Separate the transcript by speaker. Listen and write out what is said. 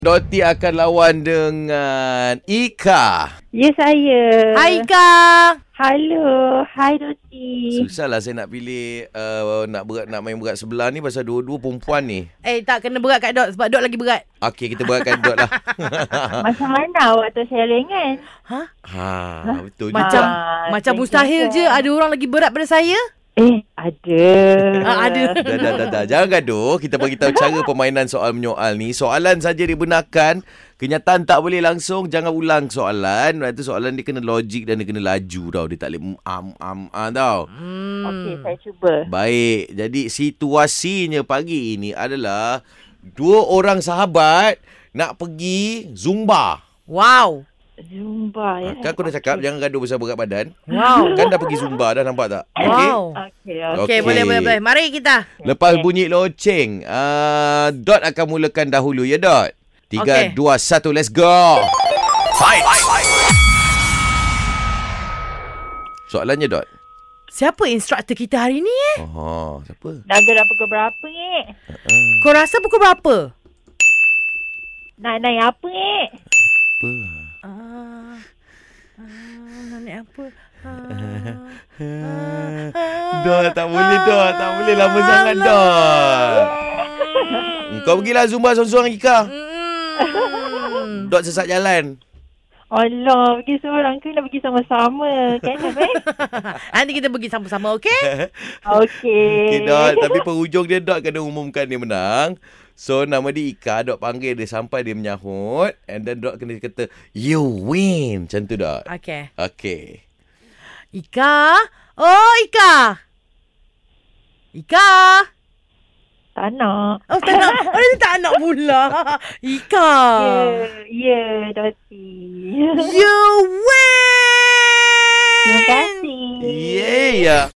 Speaker 1: Doti akan lawan dengan Ika.
Speaker 2: Ya, saya.
Speaker 3: Hai Ika.
Speaker 2: Halo. Hai, Doti.
Speaker 1: Susahlah saya nak pilih nak main berat sebelah ni pasal dua-dua perempuan ni.
Speaker 3: Tak kena berat kat Dot sebab Dot lagi berat.
Speaker 1: Okey, kita beratkan Dot lah.
Speaker 2: Macam mana waktu saya ringan?
Speaker 1: Betul
Speaker 3: Macam
Speaker 1: juga.
Speaker 3: macam mustahil je ada orang lagi berat pada saya.
Speaker 2: Ada.
Speaker 3: Ada.
Speaker 1: Dah. Jangan gaduh. Kita bagi tahu cara permainan soal menyoal ni. Soalan saja dibenarkan. Kenyataan tak boleh langsung. Jangan ulang soalan. Itu soalan dia kena logik dan dia kena laju tau. Dia tak boleh tau.
Speaker 2: Okey, saya cuba.
Speaker 1: Baik. Jadi situasinya pagi ini adalah dua orang sahabat nak pergi Zumba.
Speaker 3: Wow.
Speaker 2: Zumba ya.
Speaker 1: Kan aku dah cakap jangan gaduh pasal berat badan.
Speaker 3: Wow.
Speaker 1: Kan dah pergi Zumba dah, nampak tak? Okey.
Speaker 3: Wow.
Speaker 2: Okey.
Speaker 3: Okey, boleh. Mari kita.
Speaker 1: Lepas bunyi loceng, Dot akan mulakan dahulu ya, Dot. 3, 2, 1, let's go. Fight. Soalannya, Dot.
Speaker 3: Siapa instruktor kita hari ni
Speaker 1: Siapa?
Speaker 2: Dah gerak pukul berapa ni?
Speaker 3: Kau rasa pukul berapa?
Speaker 2: Nak naik apa ni?
Speaker 1: Apa?
Speaker 3: Nak naik apa?
Speaker 1: Dot, tak boleh, Dot. Tak boleh lama sangat, Dot. Kau pergilah Zumba seorang-seorang, Ika. Dot sesat jalan.
Speaker 2: Allah, pergi seorang ke nak pergi sama-sama? Kan,
Speaker 3: Nanti kita pergi sama-sama, okey?
Speaker 2: Okey.
Speaker 1: Okay, Dot. Tapi penghujung dia, Dot kena umumkan dia menang. So, nama dia Ika. Dot panggil dia sampai dia menyahut. And then Dot kena kata, you win. Macam tu, Dot.
Speaker 3: Okey.
Speaker 1: Okay.
Speaker 3: Ika? Oh, Ika. Ika?
Speaker 2: Tak nak.
Speaker 3: Oh, tak nak. Oh, dia tak nak pula. Ika.
Speaker 2: Ya, Doti.
Speaker 3: You win!
Speaker 2: Terima kasih.
Speaker 1: Yeah.